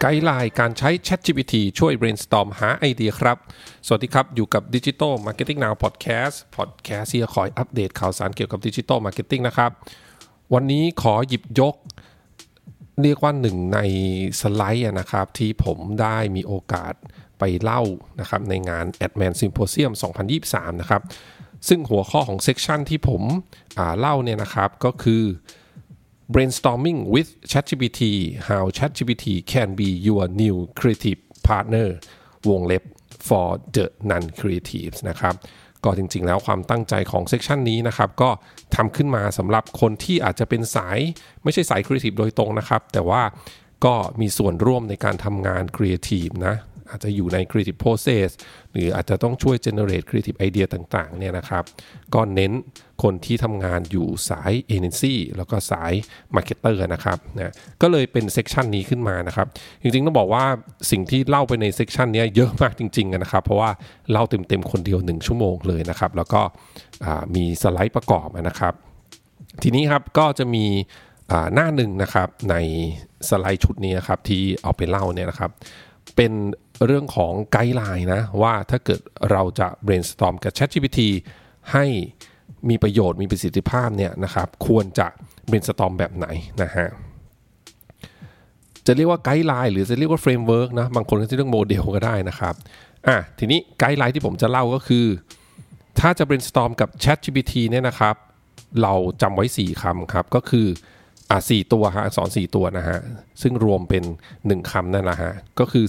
ด์ไลน์การใช้ ChatGPT ช่วย brainstorm หาไอเดียครับสวัสดีครับอยู่กับ Digital Marketing Now Podcast ที่จะคอยอัปเดตข่าวสารเกี่ยวกับ Digital Marketing นะครับวันนี้ขอหยิบยกเรียกว่าหนึ่งในสไลด์นะครับที่ผมได้มีโอกาสไปเล่านะครับในงาน AdMan Symposium 2023 นะครับซึ่งหัวข้อของเซกชันที่ผมเล่าเนี่ยนะครับก็คือ brainstorming with ChatGPT how ChatGPT can be your new creative partner วงเล็บ for the non-creatives นะครับก็จริงๆแล้วความตั้งใจของเซกชันนี้นะครับก็ทำขึ้นมาสำหรับคนที่อาจจะเป็นสายไม่ใช่สาย creative โดยตรงนะครับแต่ว่าก็มีส่วนร่วมในการทำงาน creative นะอาจจะอยู่ใน creative process หรืออาจจะต้องช่วย generate creative idea ต่างๆเนี่ยนะครับก็เน้นคนที่ทำงานอยู่สาย agency แล้วก็สาย marketer นะครับนะก็เลยเป็นเซกชันนี้ขึ้นมานะครับจริงๆต้องบอกว่าสิ่งที่เล่าไปในเซกชันนี้เยอะมากจริงๆนะครับเพราะว่าเล่าเต็มๆคนเดียว1ชั่วโมงเลยนะครับแล้วก็มีสไลด์ประกอบนะครับทีนี้ครับก็จะมีหน้าหนึ่งนะครับในสไลด์ชุดนี้ครับที่เอาไปเล่าเนี่ยนะครับเป็นเรื่องของไกด์ไลน์นะว่าถ้าเกิดเราจะ brainstorm กับ ChatGPT ให้มีประโยชน์มีประสิทธิภาพเนี่ยนะครับควรจะ brainstorm แบบไหนนะฮะจะเรียกว่าไกด์ไลน์หรือจะเรียกว่าเฟรมเวิร์กนะบางคนก็จะเรียกโมเดลก็ได้นะครับทีนี้ไกด์ไลน์ที่ผมจะเล่าก็คือถ้าจะ brainstorm กับ ChatGPT เนี่ยนะครับเราจำไว้4คำครับก็คือ4ตัวฮะอักษร4ตัวนะฮะซึ่งรวมเป็น1คำนั่นแหละฮะก็คือ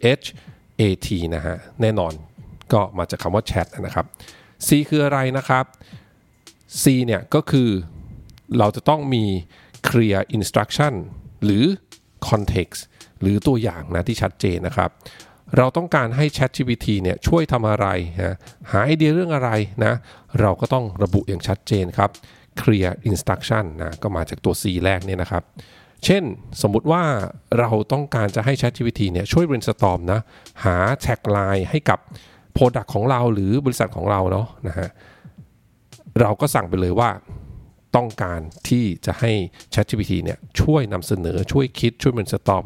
CHAT นะฮะแน่นอนก็มาจากคำว่า chat นะครับ C คืออะไรนะครับ C เนี่ยก็คือเราจะต้องมี clear instruction หรือ context หรือตัวอย่างนะที่ชัดเจนนะครับเราต้องการให้ ChatGPT เนี่ยช่วยทำอะไรนะหาไอเดียเรื่องอะไรนะเราก็ต้องระบุอย่างชัดเจนครับclear instruction นะก็มาจากตัว C แรกเนี่ยนะครับเช่นสมมุติว่าเราต้องการจะให้ ChatGPT เนี่ยช่วย brainstorm นะหา tagline ให้กับ product ของเราหรือบริษัทของเราเนาะนะฮะเราก็สั่งไปเลยว่าต้องการที่จะให้ ChatGPT เนี่ยช่วยนำเสนอช่วยคิดช่วย brainstorm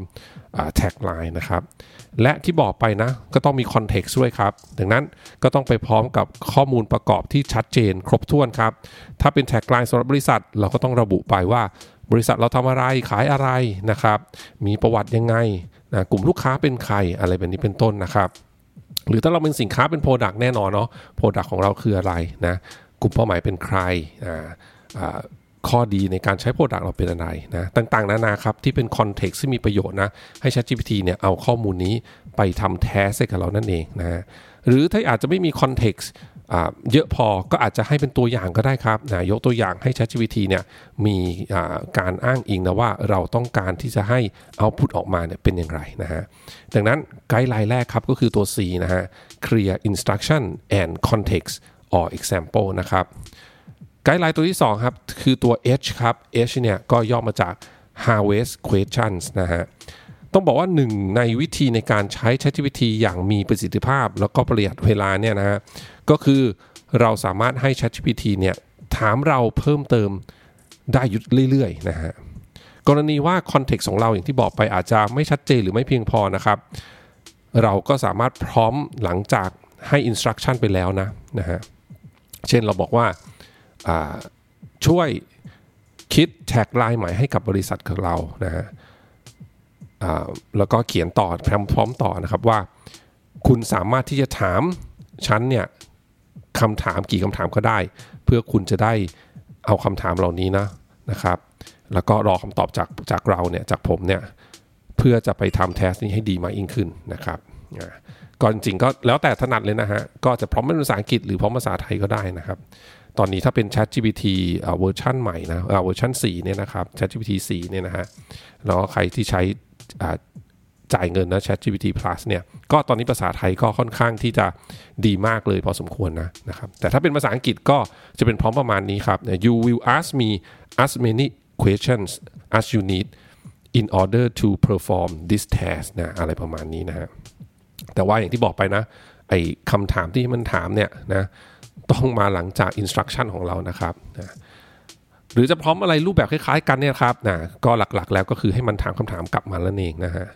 tagline นะครับและที่บอกไปนะก็ต้องมี context ด้วยครับดังนั้นก็ต้องไปพร้อมกับข้อมูลประกอบที่ชัดเจนครบถ้วนครับถ้าเป็น tagline สำหรับบริษัทเราก็ต้องระบุไปว่าบริษัทเราทำอะไรขายอะไรนะครับมีประวัติยังไงนะกลุ่มลูกค้าเป็นใครอะไรแบบนี้เป็นต้นนะครับหรือถ้าเราเป็นสินค้าเป็น product แน่นอนเนาะ product ของเราคืออะไรนะกลุ่มเป้าหมายเป็นใครข้อดีในการใช้ product เราเป็นอะไรนะต่างๆนานาครับที่เป็น context ที่มีประโยชน์นะให้ ChatGPT เนี่ยเอาข้อมูลนี้ไปทำ task ให้กับเรานั่นเองนะหรือถ้าอาจจะไม่มี context เยอะพอก็อาจจะให้เป็นตัวอย่างก็ได้ครับนะยกตัวอย่างให้ ChatGPT เนี่ยมีการอ้างอิงนะว่าเราต้องการที่จะให้ output ออกมาเนี่ยเป็นอย่างไรนะฮะดังนั้นไกด์ไลน์แรกครับก็คือตัว C นะฮะ clear instruction and context or example นะครับไกด์ไลน์ตัวที่2ครับคือตัว H ครับ H เนี่ยก็ย่อมาจาก harvest questions นะฮะต้องบอกว่าหนึ่งในวิธีในการใช้ ChatGPT อย่างมีประสิทธิภาพแล้วก็ประหยัดเวลาเนี่ยนะฮะก็คือเราสามารถให้ ChatGPT เนี่ยถามเราเพิ่มเติมได้เรื่อยๆนะฮะกรณีว่า context ของเราอย่างที่บอกไปอาจจะไม่ชัดเจนหรือไม่เพียงพอนะครับเราก็สามารถพร้อมหลังจากให้ instruction ไปแล้วนะฮะเช่นเราบอกว่าช่วยคิดแท็กไลน์ใหม่ให้กับบริษัทของเรานะฮะแล้วก็เขียนต่อพร้อมต่อนะครับว่าคุณสามารถที่จะถามฉันเนี่ยคำถามกี่คำถามก็ได้เพื่อคุณจะได้เอาคำถามเหล่านี้นะครับแล้วก็รอคำตอบจากเราเนี่ยจากผมเนี่ยเพื่อจะไปทำแทสนี้ให้ดีมากยิ่งขึ้นนะครับก็จริงๆก็แล้วแต่ถนัดเลยนะฮะก็จะพร้อมเป็นภาษาอังกฤษหรือพร้อมภาษาไทยก็ได้นะครับตอนนี้ถ้าเป็น ChatGPT เวอร์ชันใหม่นะเวอร์ชัน4เนี่ยนะครับ ChatGPT 4เนี่ยนะฮะแล้วใครที่ใช้จ่ายเงินนะ ChatGPT Plus เนี่ยก็ตอนนี้ภาษาไทยก็ค่อนข้างที่จะดีมากเลยพอสมควรนะครับแต่ถ้าเป็นภาษาอังกฤษก็จะเป็นพร้อมประมาณนี้ครับ You will ask me as many questions as you need in order to perform this task นะอะไรประมาณนี้นะฮะแต่ว่าอย่างที่บอกไปนะไอ้คำถามที่มันถามเนี่ยนะต้องมาหลังจาก instruction ของเรานะครับนะหรือจะพร้อมอะไรรูปแบบคล้ายๆกันเนี่ยครับนะก็หลักๆแล้วก็คือให้มันถามคำถามกลับมาแล้วเองนะฮะ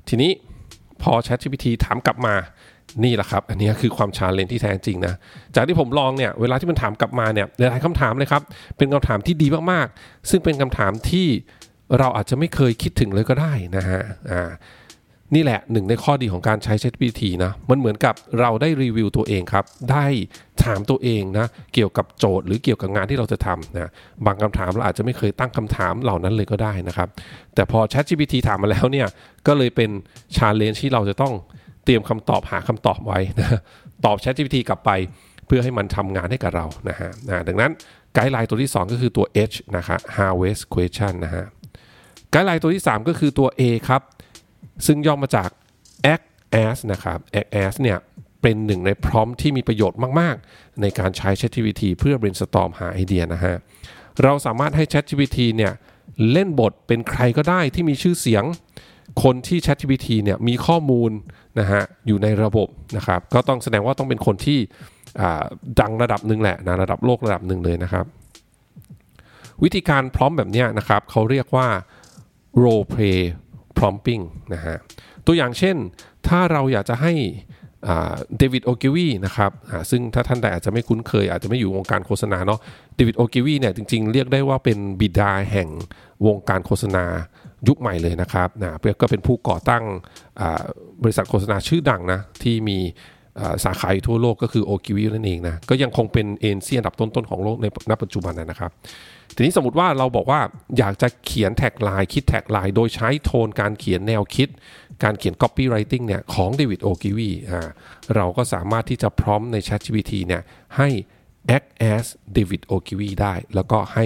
ทีนี้พอ ChatGPT ถามกลับมานี่แหละครับอันนี้คือความชาเลนจ์ที่แท้จริงนะจากที่ผมลองเนี่ยเวลาที่มันถามกลับมาเนี่ยหลายคำถามเลยครับเป็นคำถามที่ดีมากๆซึ่งเป็นคำถามที่เราอาจจะไม่เคยคิดถึงเลยก็ได้นะฮะนี่แหละหนึ่งในข้อดีของการใช้ ChatGPT นะมันเหมือนกับเราได้รีวิวตัวเองครับได้ถามตัวเองนะเกี่ยวกับโจทย์หรือเกี่ยวกับงานที่เราจะทำนะบางคำถามเราอาจจะไม่เคยตั้งคำถามเหล่านั้นเลยก็ได้นะครับแต่พอ ChatGPT ถามมาแล้วเนี่ยก็เลยเป็น challenge ที่เราจะต้องเตรียมคำตอบหาคำตอบไว้นะตอบ ChatGPT กลับไปเพื่อให้มันทำงานให้กับเรานะฮะดังนั้นไกด์ไลน์ตัวที่2ก็คือตัว H นะครับ Harvest Question นะฮะไกด์ไลน์ตัวที่3ก็คือตัว A ครับซึ่งย่อมาจาก act as นะครับ act as เนี่ยเป็นหนึ่งในพร้อมที่มีประโยชน์มากๆในการใช้ ChatGPT เพื่อ brainstorm หาไอเดียนะฮะเราสามารถให้ ChatGPT เนี่ยเล่นบทเป็นใครก็ได้ที่มีชื่อเสียงคนที่ ChatGPT เนี่ยมีข้อมูลนะฮะอยู่ในระบบนะครับก็ต้องแสดงว่าต้องเป็นคนที่ดังระดับหนึ่งแหละนะระดับโลกระดับหนึ่งเลยนะครับวิธีการพร้อมแบบนี้นะครับเขาเรียกว่า role play prompting นะฮะตัวอย่างเช่นถ้าเราอยากจะให้เดวิดโอกิวีนะครับซึ่งถ้าท่านใดอาจจะไม่คุ้นเคยอาจจะไม่อยู่วงการโฆษณาเนาะเดวิดโอกิวีเนี่ยจริงๆเรียกได้ว่าเป็นบิดาแห่งวงการโฆษณายุคใหม่เลยนะครับก็เป็นผู้ก่อตั้งบริษัทโฆษณาชื่อดังนะที่มีสาขาทั่วโลกก็คือโอกิวีนั่นเองนะก็ยังคงเป็นเอ็นซีอันดับต้นๆของโลกในณปัจจุบันนะครับทีนี้สมมติว่าเราบอกว่าอยากจะเขียนแท็กไลน์คิดแท็กไลน์โดยใช้โทนการเขียนแนวคิดการเขียน copywriting เนี่ยของเดวิดโอกิวีเราก็สามารถที่จะพร้อมใน ChatGPT เนี่ยให้ act as David Ogilvy ได้แล้วก็ให้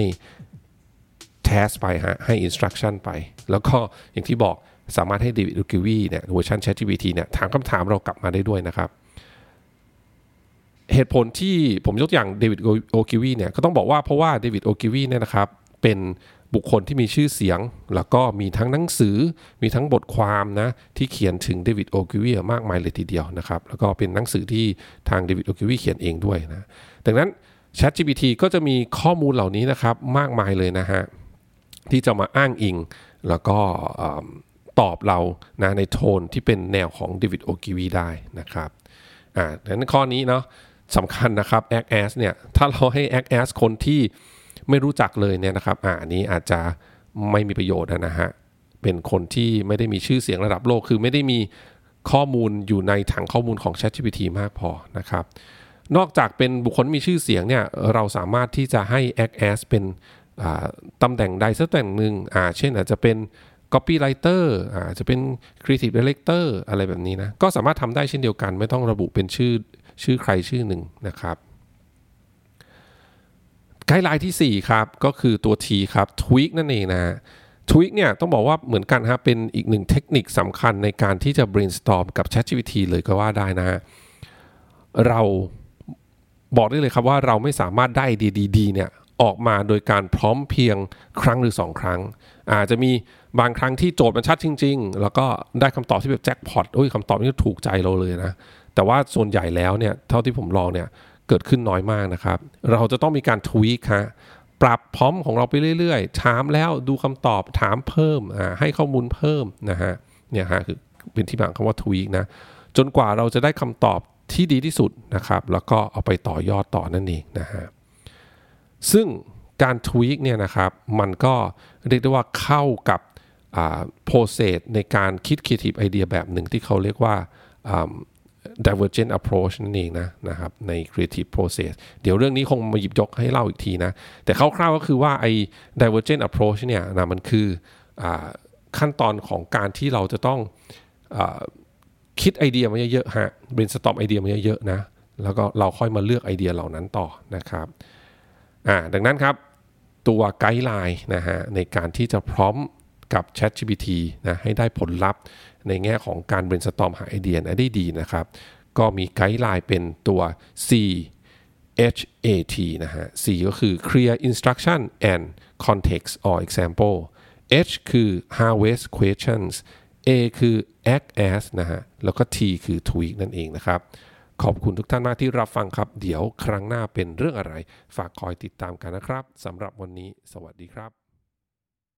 task ไปให้ instruction ไปแล้วก็อย่างที่บอกสามารถให้ David Ogilvy เนี่ยเวอร์ชัน ChatGPT เนี่ยถามคำถามเรากลับมาได้ด้วยนะครับเหตุผลที่ผมยกอย่างเดวิดโอกิวีเนี่ยก็ต้องบอกว่าเพราะว่าเดวิดโอกิวีเนี่ยนะครับเป็นบุคคลที่มีชื่อเสียงแล้วก็มีทั้งหนังสือมีทั้งบทความนะที่เขียนถึงเดวิดโอกิวีมากมายเลยทีเดียวนะครับแล้วก็เป็นหนังสือที่ทางเดวิดโอกิวีเขียนเองด้วยนะดังนั้น ChatGPT ก็จะมีข้อมูลเหล่านี้นะครับมากมายเลยนะฮะที่จะมาอ้างอิงแล้วก็ตอบเรานะในโทนที่เป็นแนวของเดวิดโอกิวีได้นะครับดังนั้นข้อนี้เนาะสำคัญนะครับ act as เนี่ยถ้าเราให้ act as คนที่ไม่รู้จักเลยเนี่ยนะครับอันนี้อาจจะไม่มีประโยชน์นะฮะเป็นคนที่ไม่ได้มีชื่อเสียงระดับโลกคือไม่ได้มีข้อมูลอยู่ในถังข้อมูลของ ChatGPT มากพอนะครับนอกจากเป็นบุคคลมีชื่อเสียงเนี่ยเราสามารถที่จะให้ act as เป็นตำแหน่งใดสักตำแหน่งหนึ่งเช่นอาจจะเป็น copywriter จะเป็น creative director อะไรแบบนี้นะก็สามารถทำได้เช่นเดียวกันไม่ต้องระบุเป็นชื่อใครชื่อหนึ่งนะครับไกด์ไลน์ที่4ครับก็คือตัว T ครับ tweak นั่นเองนะ tweak เนี่ยต้องบอกว่าเหมือนกันฮะเป็นอีกหนึ่งเทคนิคสำคัญในการที่จะ brainstorm กับ ChatGPT เลยก็ว่าได้นะเราบอกได้เลยครับว่าเราไม่สามารถได้ไอเดียดีๆเนี่ยออกมาโดยการพร้อมเพียงครั้งหรือ2ครั้งอาจจะมีบางครั้งที่โจทย์มันชัดจริงๆแล้วก็ได้คำตอบที่แบบแจ็คพอตคำตอบนี้ถูกใจเราเลยนะแต่ว่าส่วนใหญ่แล้วเนี่ยเท่าที่ผมลองเนี่ยเกิดขึ้นน้อยมากนะครับเราจะต้องมีการทวีคฮะปรับพร้อมของเราไปเรื่อยๆถามแล้วดูคำตอบถามเพิ่มให้ข้อมูลเพิ่มนะฮะเนี่ยฮะคือเป็นที่มาของคำว่าทวีคนะจนกว่าเราจะได้คำตอบที่ดีที่สุดนะครับแล้วก็เอาไปต่อยอดต่อนั่นเองนะฮะซึ่งการทวีคเนี่ยนะครับมันก็เรียกได้ว่าเข้ากับprocess ในการคิด creative idea แบบหนึ่งที่เขาเรียกว่าdivergent approach นั่นเองนะครับใน creative process เดี๋ยวเรื่องนี้คงมาหยิบยกให้เล่าอีกทีนะแต่คร่าวๆก็คือว่าไอ้ divergent approach เนี่ยนะมันคือขั้นตอนของการที่เราจะต้องคิดไอเดียมาเยอะๆฮะ brainstorm ไอเดียมาเยอะๆนะแล้วก็เราค่อยมาเลือกไอเดียเหล่านั้นต่อนะครับดังนั้นครับตัวไกด์ไลน์นะฮะในการที่จะพร้อมกับ ChatGPT นะให้ได้ผลลัพธ์ในแง่ของการ brainstorm หาไอเดียได้ดีนะครับก็มีไกด์ไลน์เป็นตัว CHAT นะฮะ C ก็คือ clear instruction and context or example H คือ harvest questions A คือ act as นะฮะแล้วก็ T คือ tweak นั่นเองนะครับขอบคุณทุกท่านมากที่รับฟังครับเดี๋ยวครั้งหน้าเป็นเรื่องอะไรฝากคอยติดตามกันนะครับสำหรับวันนี้สวัสดีครับ